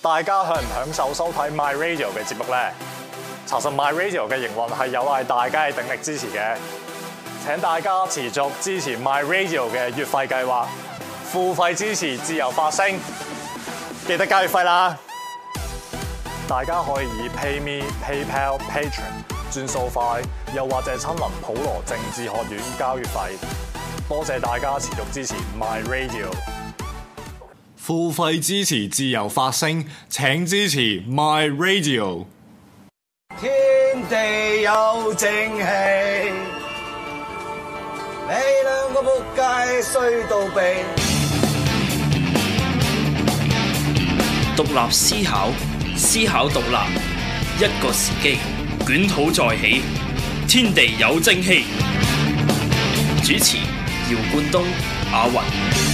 大家享唔享受收睇 My Radio 嘅節目呢？查實 My Radio 嘅營運係有賴大家嘅鼎力支持嘅。請大家持續支持 My Radio 嘅月費計劃，付費支持自由發聲，記得交月費啦！大家可以以 PayMe、PayPal、Patreon 轉數快，又或者親臨普羅政治學院交月費。多謝大家持續支持 My Radio。付費支持自由發聲，請支持 My Radio。 天地有正氣，你兩個仆街衰到痹。 獨立思考，思考獨立，一個時機，捲土再起，天地有正氣。主持：姚冠東、阿雲。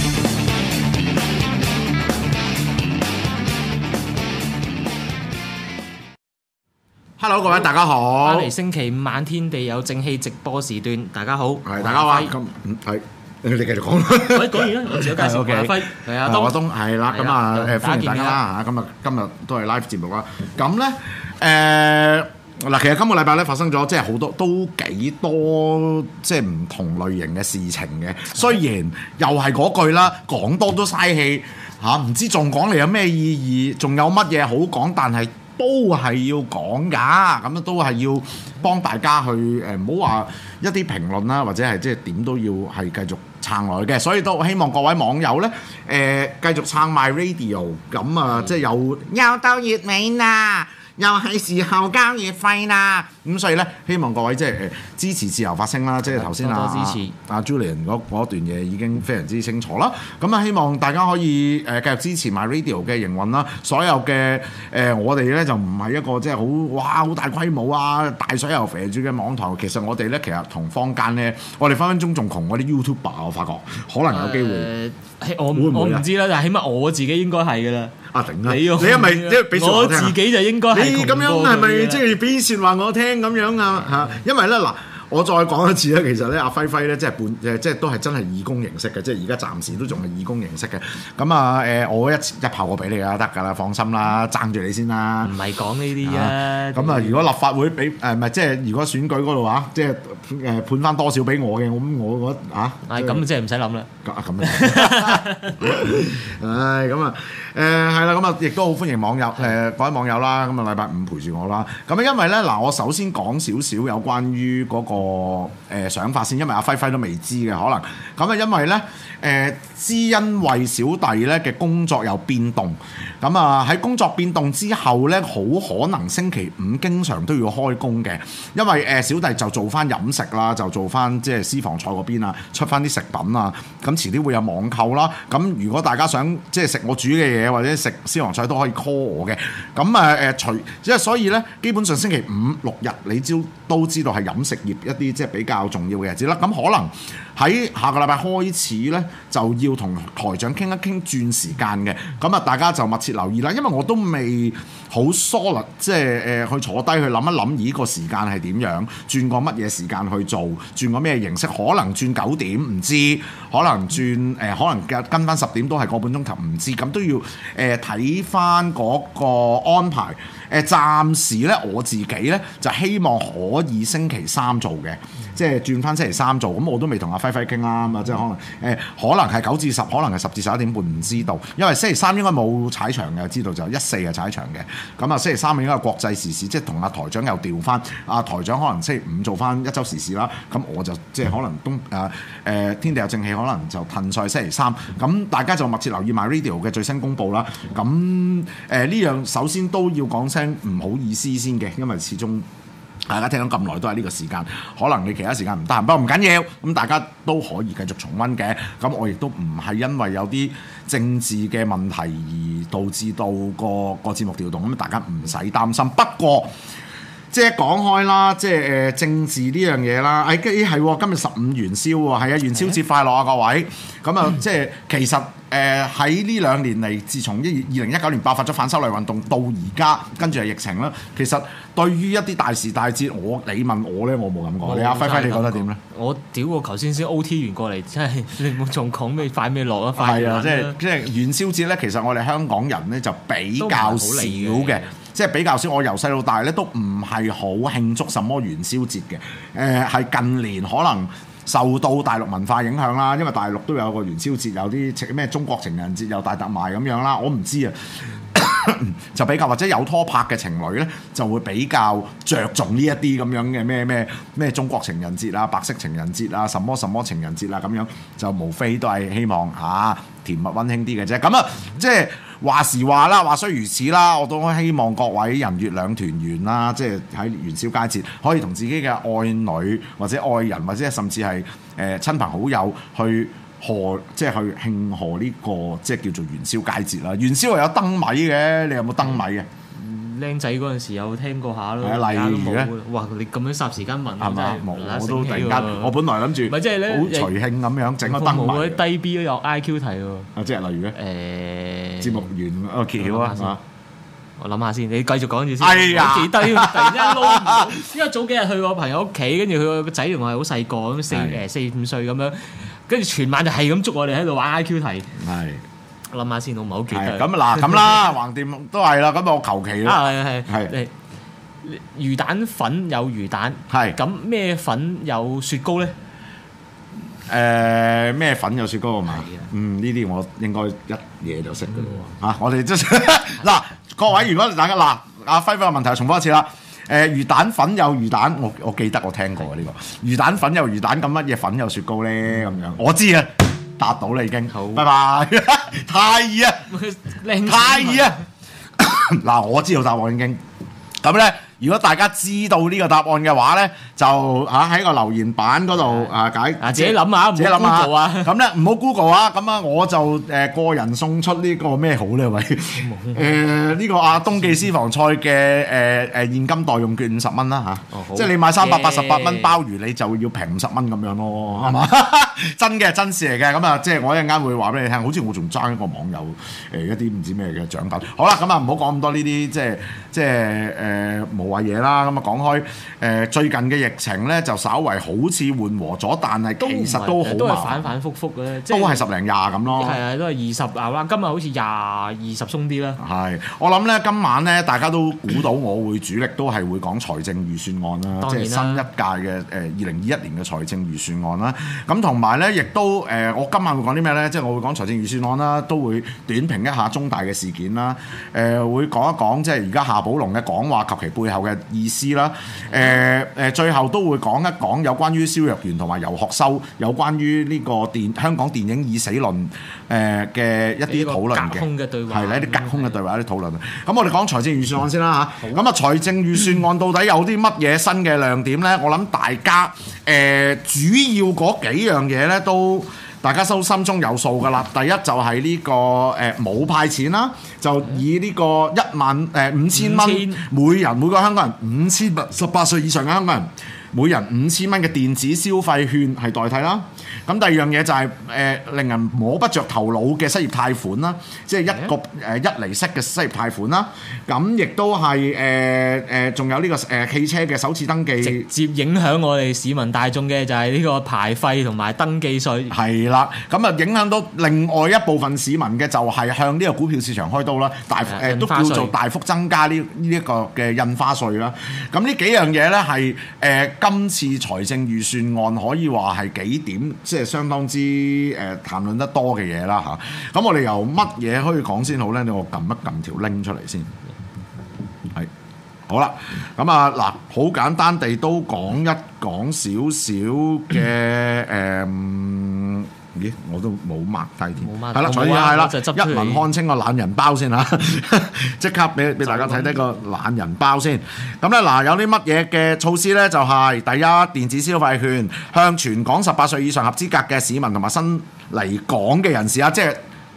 Hello， 各位大家好。 翻嚟星期五晚天地有正氣直播時段，大家好。 係大家好。咁係你繼續講啦。 喂，講完啦，我自己介紹馬輝，係阿東。 阿東係啦，咁啊歡迎大家啦嚇。今日都係 live 節目啦。咁咧嗱，其實今個禮拜咧發生咗即係好多都幾多即係唔同類型嘅事情嘅。雖然又係嗰句啦，講多都嘥氣嚇，唔知仲講嚟有咩意義，仲有乜嘢好講，但係都係要講㗎，咁都係要幫大家去唔好話一啲評論啦，或者係即係點都要係繼續撐落去嘅，所以都希望各位網友咧繼續撐 My Radio， 咁啊即係又到月尾啦，又係時候交月費啦，咁所以咧希望各位即係支持自由發聲啦，即係頭先多支持阿 Julian 嗰段嘢已經非常之清楚啦，咁啊希望大家可以繼續支持 My Radio 嘅營運啦，所有嘅我哋咧就唔係一個即係好大規模啊大水又肥住嘅網台，其實我哋咧其實同坊間咧，我哋分分鐘仲窮嗰啲 YouTuber， 我發覺可能有機會。 我唔知啦，但係起碼我自己應該係㗎啦。 啊頂啊！ 你係咪即係俾我自己就應該係你咁樣係咪即係俾説話我聽咁樣啊？嚇，因為咧嗱。我再講一次咧，其實咧阿輝輝咧即係都係真係義工形式嘅，即係而家暫時都仲係義工形式嘅。咁啊我一炮過俾你啊，得㗎啦，放心啦，爭住你先啦。唔係講呢啲啊。咁啊，如果立法會俾唔係即係如果選舉嗰度啊，即係判翻多少俾我嘅，咁我覺得啊。係咁即係唔使諗啦。咁唉，咁啊係啦，咁啊亦都好歡迎網友各位網友啦，咁啊禮拜五陪住我啦。咁啊因為咧嗱，我首先講少少有關於嗰個想法先，因為阿輝輝都未知嘅可能，咁啊因為咧知因為小弟咧嘅工作有變動，咁啊喺工作變動之後咧，好可能星期五經常都要開工嘅，因為小弟就做翻飲食啦，就做翻即係私房菜嗰邊啊，出翻啲食品啊，咁遲啲會有網購啦，咁如果大家想即係食我煮嘅嘢或者食私房菜都可以 call 我嘅，咁即係所以咧，基本上星期五六日你都知道係飲食業一啲即係比較重要嘅日子啦，咁可能喺下個禮拜開始咧就要同台長傾一傾轉時間嘅，咁啊大家就密切留意啦，因為我都未好 solid 即係去坐低去諗一諗呢個時間係點樣，轉個乜嘢時間去做，轉個咩形式，可能轉9點唔知，可能轉可能跟翻10點都係個半鐘頭唔知，咁都要睇翻嗰個安排。暫時咧我自己咧就希望可以星期三做嘅，即係轉翻星期三做，咁我都未同阿輝輝傾啦，咁啊即係可能係9至10，可能係10至11點半，唔知道，因為星期三應該冇踩場嘅，知道就14係踩場嘅，咁啊星期三應該係國際時事，即係同阿台長又調翻，阿台長可能星期五做翻一週時事啦，咁我就即係可能天地有正氣，可能就褪晒星期三，咁大家就密切留意 My Radio 嘅最新公佈啦，咁呢樣首先都要講聲唔好意思先嘅，因為始終大家聽咗咁耐都係呢個時間，可能你其他時間唔得閒，不過唔緊要，咁大家都可以繼續重溫嘅。咁我亦都唔係因為有啲政治嘅問題而導致到個節目調動，咁大家唔使擔心。不過即係講開啦，即係政治呢樣嘢啦。係今日15元宵喎，係啊，元宵節快樂啊各位！咁啊，即係其實喺呢2年嚟，自從2019年爆發咗反修例運動到而家，跟住係疫情啦。其實對於一啲大時大節，你問我咧，我冇咁講。你阿輝輝，你覺得點咧？ 我屌我頭先 OT 完過嚟，真係你冇仲講咩快咩落啊！ 係啊，即係元宵節咧，其實我哋香港人咧就比較少嘅。即係比較少，我由細到大咧都唔係好慶祝什麼元宵節嘅。係近年可能受到大陸文化影響啦，因為大陸都有個元宵節，有啲咩中國情人節又大特賣咁樣啦，我唔知啊。就比較或者有拖拍嘅情侶咧，就會比較着重呢一啲咁樣嘅咩中國情人節啊、白色情人節啊、什麼情人節啊咁樣，就無非都係希望甜蜜溫馨啲嘅啫。咁啊，即係話時話啦，話雖如此啦，我都希望各位人月兩團圓啦，即係喺元宵佳節可以同自己嘅愛女或者愛人或者甚至係親朋好友去即係去慶賀呢個即係叫做元宵佳節啦。元宵係有燈謎嘅，你有冇燈謎嘅？ 僆仔嗰陣時有聽過下咯。 例如咧， 哇！你咁樣霎時間問， 係嘛？我都突然間，我本來諗住咪即係咧好隨興咁樣整個燈謎。 嗰啲低 B 都有 IQ 題喎。 即係例如咧，節目完揭曉啊，係嘛？ 我諗下先，你繼續講住先。 係啊， 記得突然間撈唔到，因為早幾日去我朋友屋企，跟住佢個仔同我係好細個咁4-5歲咁樣，跟住全晚就係咁捉我哋喺度玩 IQ 題。 係。 我諗下先，我唔係好記得。 咁嗱，咁啦，橫掂都係啦。咁我求其啦。 係。魚蛋粉有魚蛋。係。咁咩粉有雪糕咧？ 咩粉有雪糕啊嘛？呢啲我應該一嘢就識㗎咯喎。我哋即係嗱，各位如果大家嗱，阿輝輝嘅問題重複一次啦。魚蛋粉有魚蛋，我記得我聽過呢個魚蛋粉有魚蛋，咁乜嘢粉有雪糕咧？咁樣我知啊，答到啦已經。好，拜拜。太易啊！太易啊！嗱，我知道答案已經咁咧。如果大家知道呢個答案嘅話咧，就喺個留言板嗰度自己諗下， 自己諗下。咁咧唔好 Google 啊！咁啊，我就個人送出呢個咩好呢位？呢個東記私房菜嘅現金代用券50蚊啦嚇，即係你買388蚊鮑魚，你就要平50蚊咁樣咯，係嘛？真嘅真事嚟嘅。咁啊，即係我一陣間會話俾你聽，好似我仲爭一個網友一啲唔知咩嘅獎品。好啦，咁啊唔好講咁多呢啲即係冇嘢啦，咁啊講開最近嘅疫情咧，就稍為好似緩和咗，但係其實都好都係反反覆覆嘅， 都係10零20咁咯。 係啊，都係20啦，今日好似20鬆啲啦。 係，我諗咧今晚咧，大家都估到我會主力都係會講財政預算案啦，即係新一屆嘅2021年嘅財政預算案啦。咁同埋咧，亦都我今晚會講啲咩咧？即係我會講財政預算案啦，都會短評一下中大嘅事件啦。會講一講即係而家夏寶龍嘅講話及其背後嘅意思啦，最後都會講一講有關於蕭若元同埋游學修有關於呢個香港電影已死論嘅一啲討論嘅，係啦，一啲隔空嘅對話，一啲討論。咁我哋講財政預算案先啦嚇。咁啊，財政預算案到底有啲乜嘢新嘅亮點咧？我諗大家主要嗰幾樣嘢咧都大家都心中有數㗎啦。第一就係呢個冇派錢啦，就以呢個5000蚊每個香港人18歲以上嘅香港人每人5000蚊嘅電子消費券係代替啦。咁第二樣嘢就係令人摸不着頭腦嘅失業貸款啦，即係一厘息嘅失業貸款啦。咁亦都係仲有呢個汽車嘅首次登記， 直接影響我哋市民大眾嘅就係呢個牌費同埋登記稅。 係啦，咁啊影響到另外一部分市民嘅就係向呢個股票市場開刀啦，都叫做大幅增加呢一個嘅印花稅啦。咁呢幾樣嘢咧係今次財政預算案可以話係幾點，即係相當之談論得多嘅嘢啦嚇。咁我哋由乜嘢可以講先好咧？我撳一撳條 link 出嚟先。係好啦，咁啊嗱，好簡單地都講少少嘅咦，我都冇 mark 低添。係啦，所以係啦，一文看清個懶人包先嚇，即刻俾大家睇睇個懶人包先。咁咧嗱，有啲乜嘢嘅措施咧？就係第一，電子消費券向全港18歲以上合資格嘅市民同埋新嚟港嘅人士啊，即係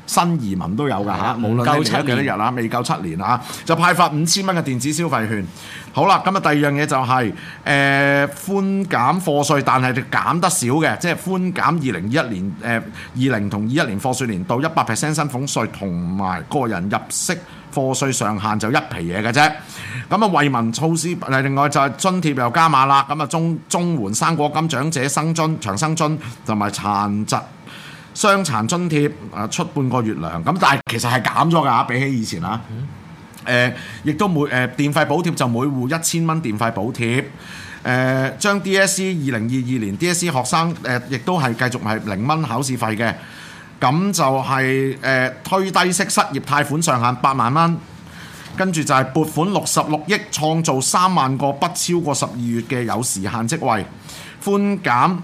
新移民都有㗎嚇，無論你嚟咗幾多日啦，未夠7年啊，就派發5000蚊嘅電子消費券。好啦，咁啊第二樣嘢就係寬減課稅，但係減得少嘅，即係寬減2021年20同21年課稅年度100% 薪俸稅同埋個人入息課稅上限就一皮嘢嘅啫。咁啊惠民措施，另外就係津貼又加碼啦。咁啊綜援、生果金、長者生津、長生津同埋殘疾傷殘津貼出半個月糧。咁但係其實係減咗㗎，比起以前啊。亦都電費補貼就每戶1000蚊電費補貼。將 DSE 2022年 DSE 學生亦都係繼續係0蚊考試費嘅。咁就係推低息失業貸款上限8萬蚊，跟住就係撥款66億，創造3萬個不超過12月嘅有時限職位，寬減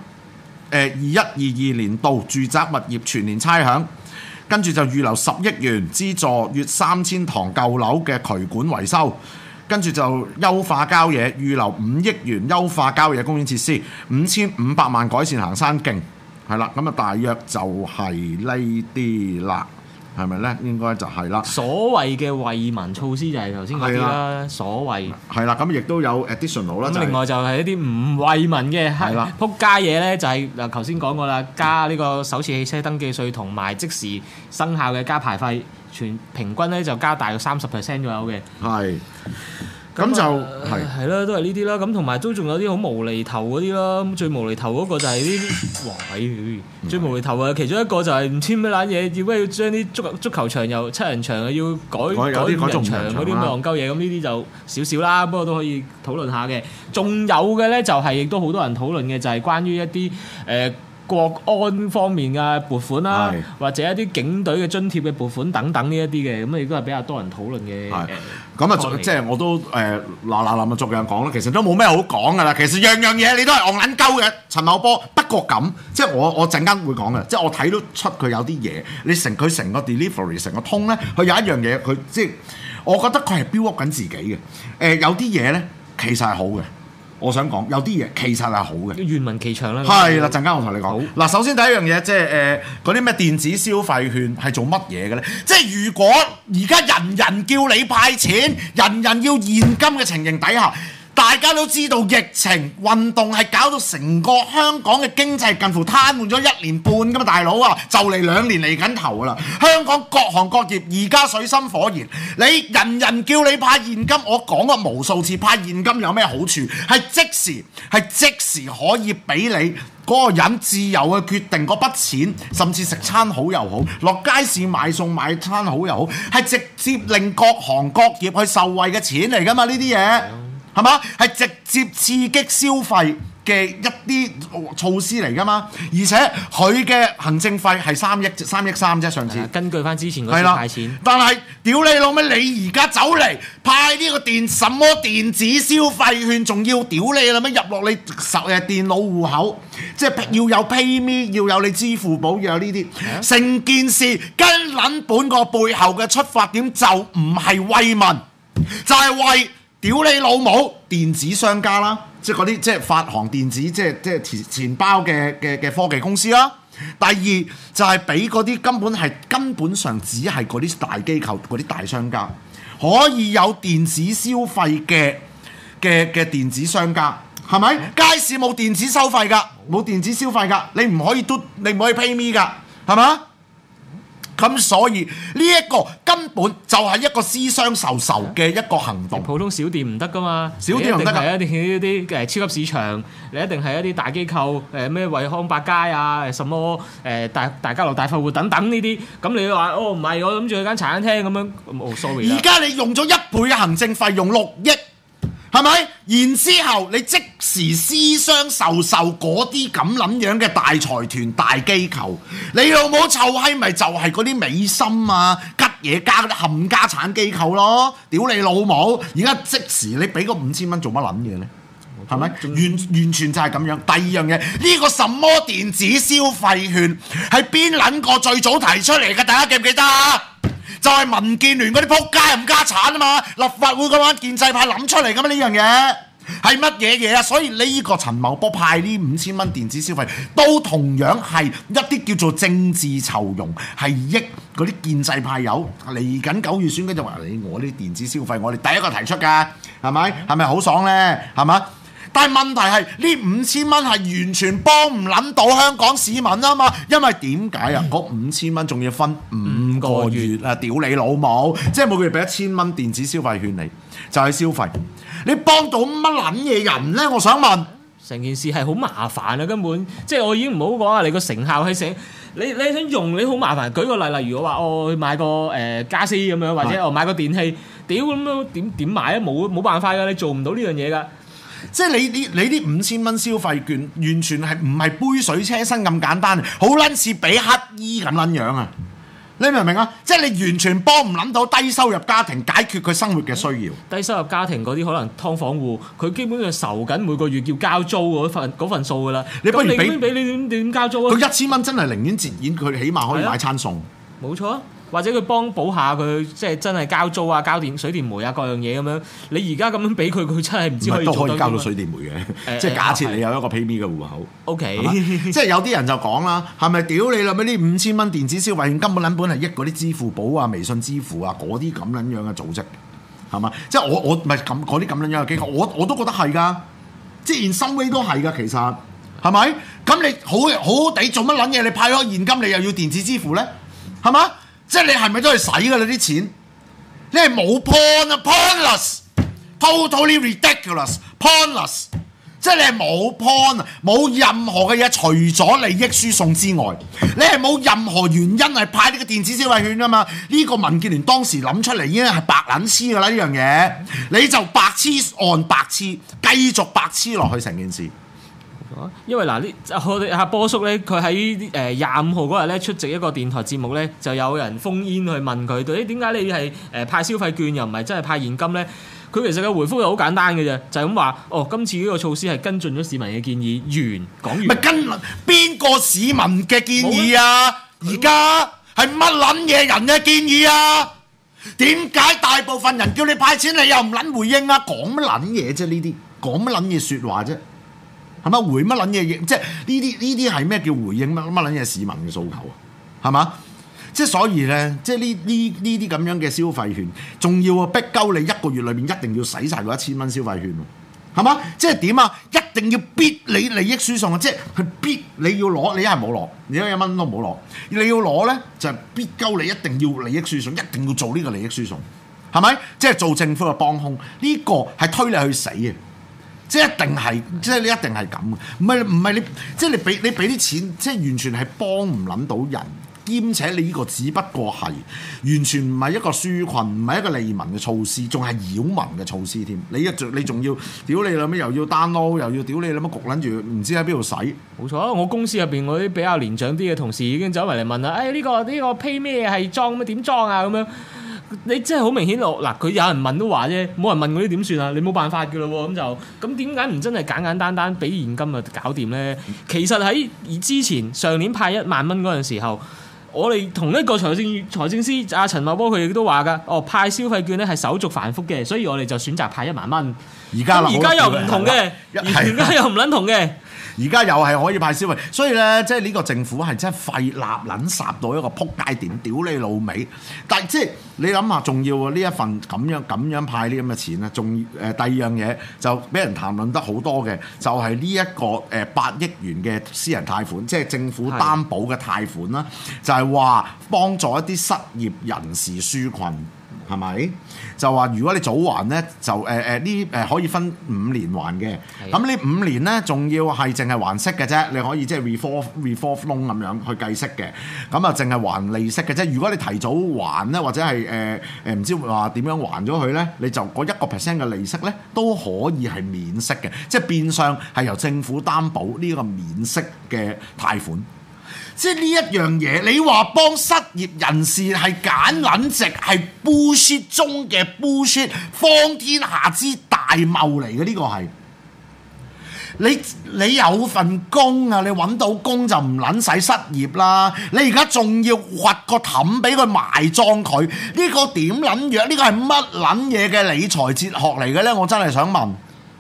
21-22年度住宅物業全年差餉，跟住就預留10億元資助約3000幢舊樓嘅渠管維修，跟住就優化郊野，預留5億元優化郊野公園設施，5500萬改善行山徑。係啦，咁啊大約就係呢啲啦，係咪咧？應該就係啦。 所謂嘅惠民措施就係頭先嗰啲啦，所謂係啦，咁亦都有 additional 啦。 咁另外就係一啲唔惠民嘅係啦，撲街嘢咧就係嗱頭先講過啦，加呢個首次汽車登記稅同埋即時生效嘅加牌費，全平均咧就加大約30% 左右嘅。係。咁就係啦，都係呢啲啦。咁同埋都仲有啲好無厘頭嗰啲啦。咁最無厘頭嗰個就係呢啲，哇！最無厘頭啊！其中一個就係唔知咩撚嘢，要唔要將啲足球場由7人場要改5人場嗰啲咁嘅戇鳩嘢。咁呢啲就少少啦，不過都可以討論下嘅。仲有嘅咧就係亦都好多人討論嘅，就係關於一啲國安方面嘅撥款啦，或者一啲警隊嘅津貼嘅撥款等等呢一啲嘅，咁亦都係比較多人討論嘅。 咁啊，即係我都嗱逐樣講啦。其實都冇咩好講噶啦。其實樣嘢你都係戇撚鳩嘅陳茂波。不過咁，即係我陣間會講嘅。即係我睇到出佢有啲嘢，佢成個 delivery 成個通咧，佢有一樣嘢，佢即係我覺得佢係 build up 緊自己嘅。有啲嘢咧其實係好嘅。我想講有啲嘢其實係好嘅， 願聞其詳啦。 係啦，陣間我同你講。嗱，首先第一樣嘢即係嗰啲咩電子消費券係做乜嘢嘅咧？即係如果而家人人叫你派錢，人人要現金嘅情形底下，大家都知道疫情運動係搞到成個香港嘅經濟近乎癱瘓咗1年半㗎嘛，大佬啊，就嚟2年嚟緊頭啦。香港各行各業而家水深火熱，你人人叫你派現金，我講過無數次，派現金有咩好處？係即時可以俾你嗰個人自由去決定嗰筆錢，甚至食餐好又好，落街市買餸買餐好又好，係直接令各行各業去受惠嘅錢嚟㗎嘛，呢啲嘢。係嘛？係直接刺激消費嘅一啲措施嚟㗎嘛？而且佢嘅行政費係3億3啫，上次。 根據翻之前嗰次派錢。 但係屌你老味，你而家走嚟派呢個什麼電子消費券，仲要屌你啦咩？入落你電腦戶口，即係要有 PayMe， 要有你支付寶，要有呢啲。成件事跟撚本個背後嘅出發點就唔係惠民，就係為屌你老母！電子商家啦，即係嗰啲即係發行電子即係錢包嘅科技公司啦。第二就係俾嗰啲根本上只係嗰啲大機構、嗰啲大商家可以有電子消費嘅電子商家，係咪？街市冇電子收費㗎，冇電子消費㗎，你唔可以 pay me 㗎，係嘛？咁所以呢一個根本就係一個私相授受嘅一個行動。 普通小店唔得噶嘛， 小店唔得㗎， 一定係一啲超級市場，你一定係一啲大機構，咩惠康百佳啊，什麼大家樂大快活等等呢啲。咁你話唔係，我諗住去間茶餐廳咁樣，sorry 啦。 而家你用咗1倍嘅行政費，用6億。係咪？然之後你即時私相授受嗰啲咁撚樣嘅大財團、大機構，你老母臭閪咪就係嗰啲美心啊、吉野家嗰啲冚家產機構咯！屌你老母！而家即時你俾個5000蚊做乜撚嘢咧？係咪？完全就係咁樣。第二樣嘢，呢個什麼電子消費券係邊撚個最早提出嚟嘅？大家記唔記得啊？就係民建聯嗰啲撲街冚家產啊嘛！立法會嗰班建制派諗出嚟㗎嘛呢樣嘢， 係乜嘢嘢啊？所以呢個陳茂波派呢5000蚊電子消費，都同樣係一啲叫做政治酬庸，係益嗰啲建制派友嚟緊9月選舉就話你我啲電子消費，我哋第一個提出㗎，係咪？係咪好爽呢？係嘛？但係問題係呢5000蚊係完全幫唔撚到香港市民啊嘛，因為點解啊？嗰5000蚊仲要分5個月啊！屌你老母，即係每個月俾1000蚊電子消費券你，就係消費。你幫到乜撚嘢人呢？我想問， 成件事係好麻煩啊！根本即係我已經唔好講啊！你個成效係成，你想用你好麻煩。舉個例，例如我話我買個家私咁樣，或者我買個電器，屌咁樣點買啊？冇辦法㗎，你做唔到呢樣嘢㗎。 即係你啲5000蚊消費券，完全係唔係杯水車薪咁簡單，好撚似俾乞衣咁撚樣啊！你明唔明啊？即係你完全幫唔撚到低收入家庭解決佢生活嘅需要。 低收入家庭嗰啲可能劏房戶，佢基本上受緊每個月要交租嗰份數㗎啦。 你不如俾你點交租啊？ 佢1000蚊真係寧願折現，佢起碼可以買餐餸。 冇錯啊！或者佢幫補下佢，即係真係交租啊、交電水電煤啊各樣嘢咁樣。你而家咁樣俾佢，佢真係唔知可以做到。都可以交到水電煤嘅，即係假設你有一個 PayMe 嘅戶口。 OK， 即係有啲人就講啦，係咪屌你啦？咩呢5000蚊電子消費券根本撚本係益嗰啲支付寶啊、微信支付啊嗰啲咁撚樣嘅組織，係嘛？即係我唔係咁嗰啲咁撚樣嘅機構，我都覺得係㗎。即係 in some way 都係㗎，其實係咪？咁你好好地做乜撚嘢？你派咗現金，你又要電子支付咧，係嘛？即係你係咪都係使㗎？你啲錢，你係冇 point 啊 ，pointless，totally ridiculous，pointless。即係你係冇 point 啊，冇任何嘅嘢，除咗利益輸送之外，你係冇任何原因係派呢個電子消費券㗎嘛？呢個民建聯當時諗出嚟已經係白撚黐㗎啦，呢樣嘢你就白黐按白黐，繼續白黐落去成件事。 因為嗱，我哋阿波叔咧，佢喺25號嗰日咧出席一個電台節目咧，就有人烽煙去問佢，到底點解你係派消費券又唔係真係派現金咧？佢其實嘅回覆係好簡單嘅啫，就係咁話，今次呢個措施係跟進咗市民嘅建議，講完。咪跟邊個市民嘅建議啊？而家係乜撚嘢人嘅建議啊？點解大部分人叫你派錢，你又唔撚回應啊？講乜撚嘢啫？呢啲講乜撚嘢説話啫？係咪回乜撚嘢？即係呢啲係咩叫回應乜撚嘢市民嘅訴求啊？係嘛？即係所以咧，即係呢啲咁樣嘅消費券，仲要逼鳩你1個月裏面一定要使晒嗰1000蚊消費券喎，係嘛？即係點啊？一定要逼你利益輸送啊！即係佢逼你要攞，你一係冇攞，你1蚊都冇攞。你要攞咧，就係逼鳩你一定要利益輸送，一定要做呢個利益輸送，係咪？即係做政府嘅幫兇，呢個係推你去死嘅。即係一定係，即係你一定係咁嘅，唔係你，即係你俾啲錢，即係完全係幫唔撚到人，兼且你呢個只不過係完全唔係一個紓困，唔係一個利民嘅措施，仲係擾民嘅措施添。你仲要屌你啦咩？又要 download，又要屌你啦乜焗撚住，唔知喺邊度使？冇錯，我公司入邊嗰啲比較年長啲嘅同事已經走埋嚟問啦，呢個 pay 咩係裝咩點裝啊咁樣。你真係好明顯嗱，佢有人問都話啫，冇人問嗰啲點算啊？你冇辦法㗎咯喎，咁點解唔真係簡簡單單俾現金就搞掂咧？其實喺之前上年派1萬蚊嗰陣時候，我哋同一個財政司阿陳茂波佢亦都話㗎，派消費券咧係手續繁複嘅，所以我哋就選擇派1萬蚊。而家又唔同嘅，而家又唔撚同嘅。而家又係可以派消費，所以咧，即係呢個政府係真係廢立撚殺到一個撲街點，屌你老味！但係即係你諗下，仲要呢一份咁樣派呢咁嘅錢咧，仲第二樣嘢就俾人談論得好多嘅，就係呢一個8億元嘅私人貸款，即係政府擔保嘅貸款啦，就係話幫助一啲失業人士紓困。係咪？就話如果你早還咧，就可以分5年還嘅。咁呢5年咧，仲要係淨係還息嘅啫。你可以即係 revolve loan 咁樣去計息嘅。咁啊，淨係還利息嘅啫。如果你提早還咧，或者係唔知話點樣還咗佢咧，你就嗰1% 嘅利息咧都可以係免息嘅，即係變相係由政府擔保呢個免息嘅貸款。即係呢一樣嘢，你話幫失業人士係揀撚值，係 bullshit 中嘅 bullshit， 方天下之大謬嚟嘅，呢個係你有份工啊，你揾到工就唔撚使失業啦。你而家仲要掘個氹俾佢埋葬佢，呢個點撚樣？呢個係乜撚嘢嘅理財哲學嚟嘅咧？我真係想問。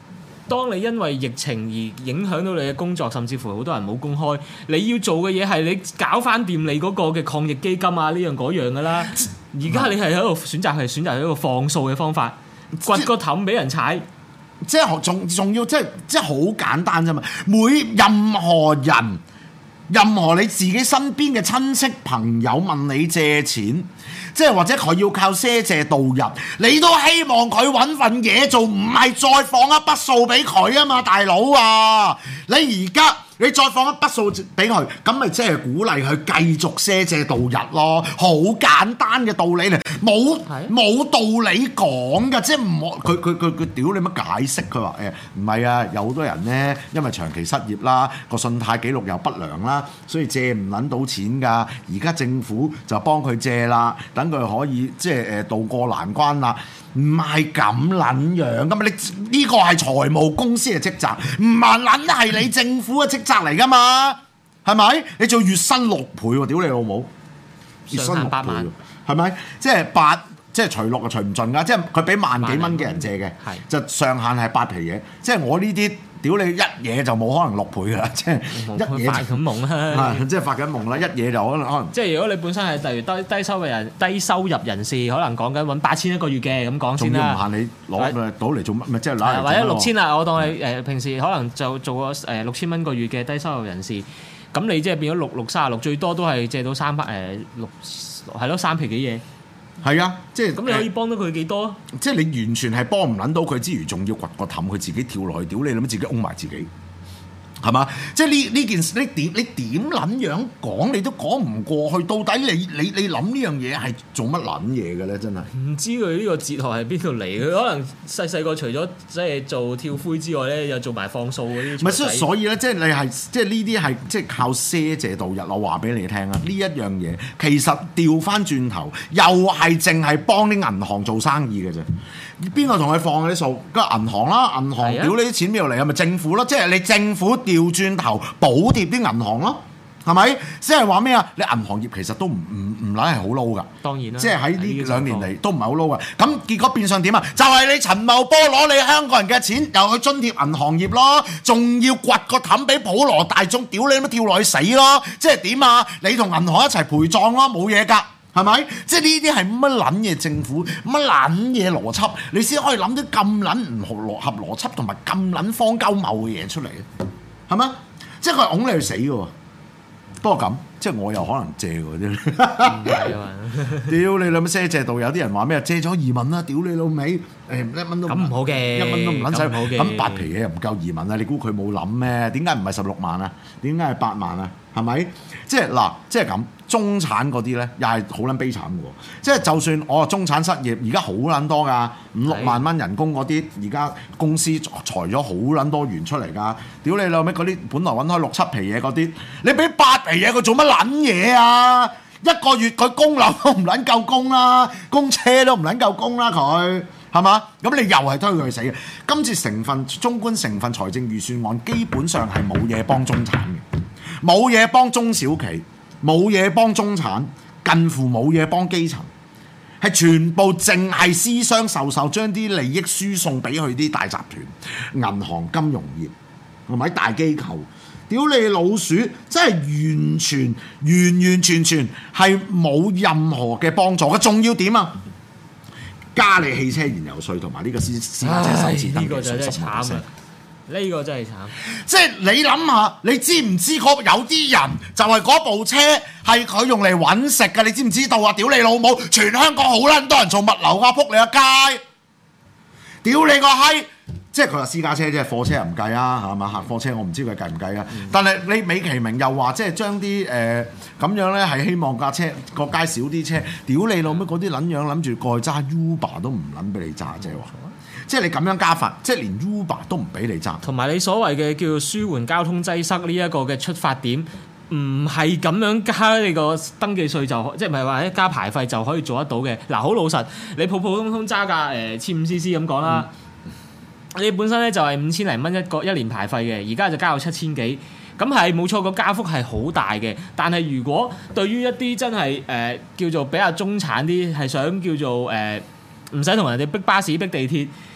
當你因為疫情而影響到你嘅工作，甚至乎好多人冇工開，你要做嘅嘢係你搞翻掂你嗰個嘅抗疫基金啊，呢樣嗰樣噶啦。而家你係喺度選擇一個放數嘅方法，掘個氹俾人踩。 即係仲要即係好簡單啫嘛！任何人、任何你自己身邊嘅親戚朋友問你借錢，即係或者佢要靠賒借度日，你都希望佢揾份嘢做，唔係再放一筆數俾佢啊嘛，大佬啊！你而家你再放一筆數俾佢，咁咪即係鼓勵佢繼續賒借度日咯，好簡單嘅道理嚟，冇道理講㗎，即係唔好佢屌你乜解釋？佢話唔係啊，有好多人呢，因為長期失業啦，個信貸記錄又不良啦，所以借唔撚到錢㗎。而家政府就幫佢借啦，等佢可以即係渡過難關啦。唔係咁撚樣噶嘛，你呢個係財務公司嘅職責，唔係撚係你政府嘅職責嚟噶嘛，係咪？你做月薪6倍喎，屌你老母！月薪6倍喎，係咪？即係除落就除唔盡噶，即係佢俾萬幾蚊嘅人借嘅，就上限係8皮嘢。即係我呢啲屌你一嘢就冇可能6倍噶啦，即係一嘢發緊夢啦， 即係發緊夢啦，一嘢就可能。即係如果你本身係例如低收入人士，可能講緊揾8000一個月嘅咁講先啦。 仲要唔限你攞到嚟做乜？咪即係攞嚟或者6000啦，我當你平時可能就做個6000蚊個月嘅低收入人士，咁你即係變咗636，最多都係借到3皮幾嘢。 係啊，即係咁你可以幫到佢幾多？ 即係你完全係幫唔撚到佢之餘，仲要掘個氹，佢自己跳落去，屌你諗乜自己擁埋自己，係嘛？即係呢件事，你點撚樣講，你都講唔過去。到底你諗呢樣嘢係做乜撚嘢嘅咧？真係唔知佢呢個哲學係邊度嚟？佢可能細個除咗即係做跳灰之外咧，又做埋放數嗰啲。 唔係，所以咧，即係你係即係呢啲係即係靠賒借度日。我話俾你聽啊，呢一樣嘢其實調翻轉頭，又係淨係幫啲銀行做生意嘅啫。邊個同佢放嗰啲數？個銀行啦，銀行屌你啲錢邊度嚟？係咪政府咯？即係你政府調轉頭補貼啲銀行咯，係咪？即係話咩啊？你銀行業其實都唔撚係好撈㗎。 當然啦， 即係喺呢2年嚟都唔係好撈㗎。咁結果變相點啊？就係你陳茂波攞你香港人嘅錢，又去津貼銀行業咯，仲要掘個氹俾普羅大眾，屌你乜跳落去死咯！即係點啊？你同銀行一齊陪葬咯，冇嘢㗎。係咪？即係呢啲係乜撚嘢政府，乜撚嘢邏輯，你先可以諗到咁撚唔合邏輯同埋咁撚荒鳩謬嘅嘢出嚟嘅，係咪？即係佢係㧬你去死嘅喎。不過咁，即係我又可能借喎啲。唔係啊嘛！屌你老味賒借到有啲人話咩？借咗移民啦！屌你老味，1蚊都咁唔好嘅 ，1蚊都唔撚使。咁8皮嘢嘢又唔夠移民啊！你估佢冇諗咩？點解唔係16萬啊？點解係8萬啊？係咪？即係嗱，即係咁。中產嗰啲咧，又係好撚悲慘嘅喎。即係就算我中產失業，而家好撚多㗎，5-6萬蚊人工嗰啲，而家公司裁咗好撚多元出嚟㗎。屌你老味嗰啲，本來揾開6-7皮嘢嗰啲，你俾8皮嘢佢做乜撚嘢啊？一個月佢供樓都唔撚夠供啦，供車都唔撚夠供啦，佢係嘛？咁你又係推佢去死嘅。今次中觀成分財政預算案基本上係冇嘢幫中產嘅，冇嘢幫中小企。冇嘢幫中產，近乎冇嘢幫基層，係全部淨係私相授受，將啲利益輸送俾佢啲大集團、銀行、金融業同埋大機構。屌你老鼠，真係完全係冇任何嘅幫助嘅。仲要點啊？加你汽車燃油稅同埋呢個私家車首次登記稅15%。 呢個真係慘，即係你諗下，你知唔知有啲人就係嗰部車係佢用嚟揾食㗎？你知唔知道啊？屌你老母！全香港好撚多人做物流啊，撲你個街！屌你個閪！即係佢話私家車啫，貨車又唔計啊，係嘛？客貨車我唔知佢計唔計啊。但係你美其名又話即係將啲咁樣咧，係希望架車個街少啲車。屌你老母！嗰啲撚樣諗住過去揸 Uber 都唔撚俾你揸啫喎！即係你咁樣加法，即係連 Uber 都唔俾你揸。 同埋你所謂嘅叫做舒緩交通擠塞呢一個嘅出發點，唔係咁樣加你個登記稅就即係唔係話一加牌費就可以做得到嘅。嗱，好老實，你普通揸架1500cc 咁講啦，你本身咧就係5000零蚊一年牌費嘅，而家就加到7000幾，咁係冇錯，個加幅係好大嘅。但係如果對於一啲真係叫做比較中產啲，係想叫做唔使同人哋逼巴士逼地鐵。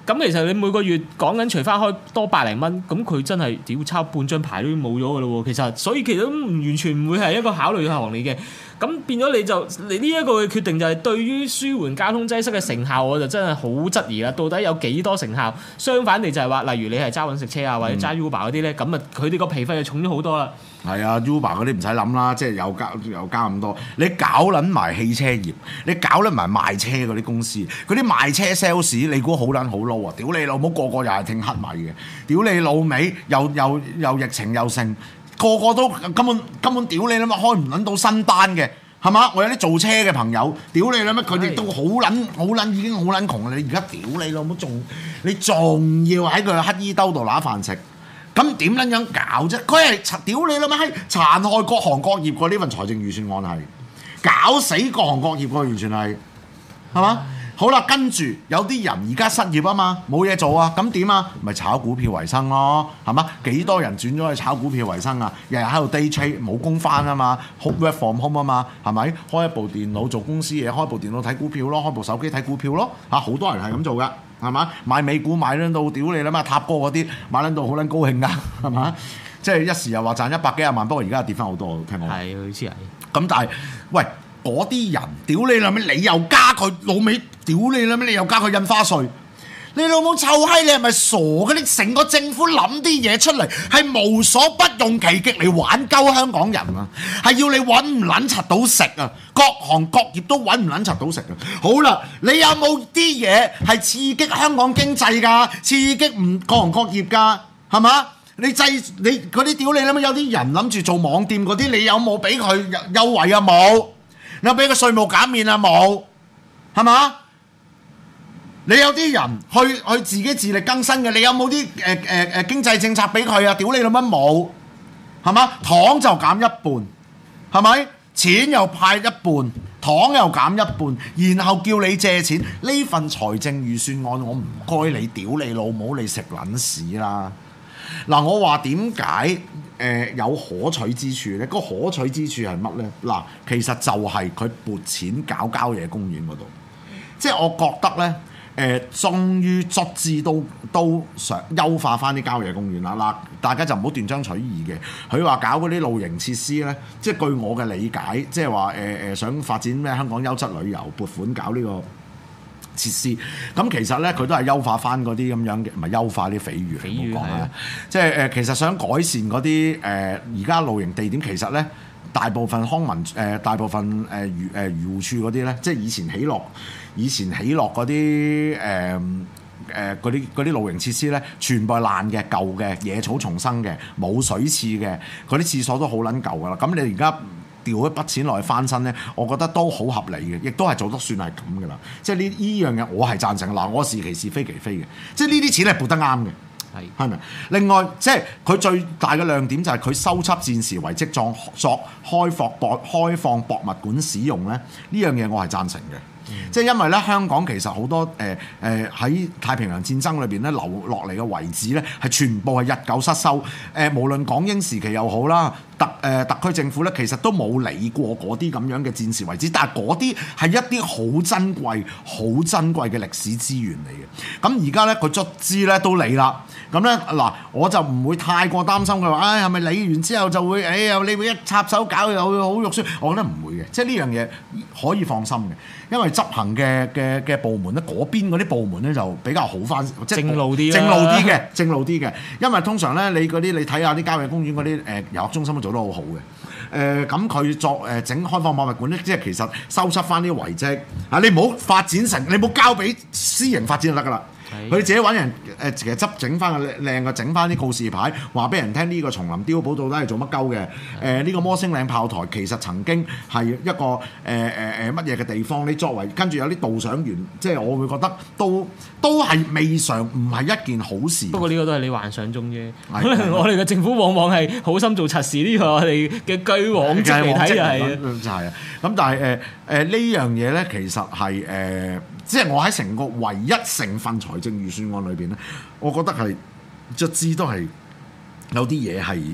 咁其實你每個月講緊除翻開多百零蚊，咁佢真係屌抄半張牌都冇咗㗎咯喎。其實所以其實都完全唔會係一個考慮嘅行嚟嘅。咁變咗你呢一個嘅決定就係對於舒緩交通擠塞嘅成效，我就真係好質疑啦。到底有幾多成效？相反地就係話，例如你係揸揾食車啊，或者揸 Uber 嗰啲咧，咁啊佢哋個皮費就重咗好多啦。 係啊 ，Uber 嗰啲唔使諗啦，即係又加咁多。你搞撚埋汽車業，你搞撚埋賣車嗰啲公司，嗰啲賣車 sales， 你估好撚好撈啊？屌你老母，個個又係聽黑米嘅，屌你老味，又疫情又剩。個個都根本屌你啦嘛，開唔撚到新單嘅，係嘛？我有啲做車嘅朋友，屌你啦咩？佢哋都好撚已經好撚窮啦！你而家屌你老母，你仲要喺佢乞衣兜度揦飯食，咁點撚樣搞啫？佢係屌你啦咩？係殘害各行各業嘅呢份財政預算案係搞死各行各業嘅，完全係嘛？好啦，跟住有啲人而家失業啊嘛，冇嘢做啊，咁點啊？咪炒股票為生咯，係嘛？幾多人轉咗去炒股票為生啊？日日喺度 day trade 冇工返啊嘛 ，work from home 啊嘛，係咪？開一部電腦做公司嘢，開部電腦睇股票咯，開部手機睇股票咯，嚇好多人係咁做噶，係嘛？買美股買撚到屌你啦嘛，塔哥嗰啲買撚到好撚高興噶，係嘛？即係一時又話賺100幾廿萬，不過而家跌翻好多，聽講。 係，好似係。咁但係，喂。嗰啲人屌你老味，你又加佢老味，屌你老味，你又加佢印花稅，你老母臭閪，你係咪傻嘅？你成個政府諗啲嘢出嚟係無所不用其極嚟玩鳩香港人啊！係要你揾唔撚柒到食啊！各行各業都揾唔撚柒到食啊！好啦，你有冇啲嘢係刺激香港經濟㗎？刺激唔各行各業㗎？係嘛？你嗰啲屌你啦嘛，有啲人諗住做網店嗰啲，你有冇俾佢優惠啊？冇。你有俾個稅務減免啊？冇，係嘛？你有啲人去自己自力更生嘅，你有冇啲經濟政策俾佢啊？屌你老母冇，係嘛？糖就減一半，係咪？錢又派一半，糖又減一半，然後叫你借錢。呢份財政預算案，我唔該你屌你老母，你食撚屎啦！嗱，我話點解有可取之處呢？個可取之處係乜呢？嗱，其實就係佢撥錢搞郊野公園嗰度，即係我覺得呢，終於卒之都想優化翻啲郊野公園啦。嗱，大家就唔好斷章取義嘅。佢話搞嗰啲露營設施呢，即係據我嘅理解，即係話想發展咩香港優質旅遊，撥款搞呢個設施，咁其實咧佢都係優化翻嗰啲咁樣嘅，唔係優化啲匪魚嚟講啊！即係其實想改善嗰啲而家露營地點，其實咧大部分康文大部分漁護處嗰啲咧，即係以前起落嗰啲嗰啲露營設施咧，全部係爛嘅、舊嘅、野草叢生嘅、冇水廁嘅，嗰啲廁所都好撚舊噶啦。咁你而家調一筆錢落去翻身咧，我覺得都好合理嘅，亦都係做得算係咁嘅啦。即係呢樣嘢，我係贊成。嗱，我是其是非其非嘅，即係呢啲錢係撥得啱嘅，係咪？另外，即係佢最大嘅亮點就係佢收葺戰時遺蹟作開放博物館使用咧，呢樣嘢我係贊成嘅。即係因為咧，香港其實好多喺太平洋戰爭裏邊咧留落嚟嘅遺址咧，係全部係日久失修。無論港英時期又好啦，特區政府咧其實都冇理過嗰啲咁樣嘅戰時遺址，但係嗰啲係一啲好珍貴嘅歷史資源嚟嘅。咁而家咧佢卒之咧都理啦。咁咧嗱，我就唔會太過擔心佢話，係咪理完之後就會，你會一插手搞又會好肉酸？我覺得唔會嘅，即係呢樣嘢可以放心嘅，因為執行嘅部門咧，嗰邊嗰啲部門咧就比較好翻，即係正路啲嘅。因為通常咧，你睇下啲郊野公園嗰啲遊樂中心都做得好好嘅。咁佢作整開放博物館咧，即係其實收葺翻啲遺蹟啊！你唔好發展成，你唔好交俾私營發展就得㗎啦。佢自己揾人其實整翻個靚嘅，整翻啲告示牌，話俾人聽呢個松林碉堡到底係做乜鳩嘅？呢個摩星嶺炮台其實曾經係一個乜嘢嘅地方？你作為跟住有啲導賞員，即係我會覺得都係未嘗唔係一件好事。不過呢個都係你幻想中啫。可能我哋嘅政府往往係好心做賊事，呢個我哋嘅據往績嚟睇就係啊。咁但係呢樣嘢咧，其實係即係我喺成個唯一成份財政預算案裏邊咧，我覺得係卒之都係有啲嘢係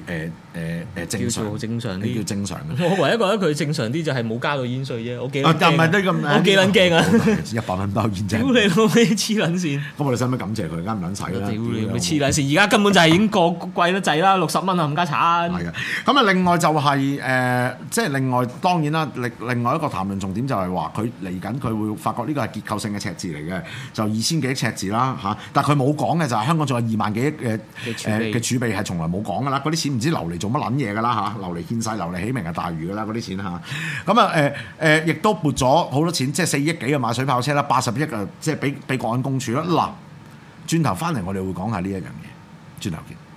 正常， 叫做正常啲， 叫正常嘅。 我唯一覺得佢正常啲就係冇加到煙稅啫，我幾撚唔係都咁， 我幾撚驚啊 ！100蚊包煙屌啫。 你老味黐撚線！ 咁我哋使唔使感謝佢？梗唔撚使啦！ 屌你咪黐撚線！而家根本就係已經過貴得滯啦，60蚊啊冚家鏟。 係啊，咁啊另外就係即係另外當然啦，另外一個談論重點就係話佢嚟緊佢會發覺呢個係結構性嘅赤字嚟嘅，就2000幾億赤字啦嚇。但係佢冇講嘅就係香港仲有2萬幾億嘅儲備係從來冇講㗎啦，嗰啲錢唔知流嚟做乜撚嘢㗎啦嚇，流嚟獻世，流嚟起明日大嶼㗎啦嗰啲錢嚇。咁啊亦都撥咗好多錢，即係4億幾啊買水炮車啦，80億啊即係俾國安公署啦。嗱，轉頭翻嚟我哋會講下呢一樣嘢，轉頭見。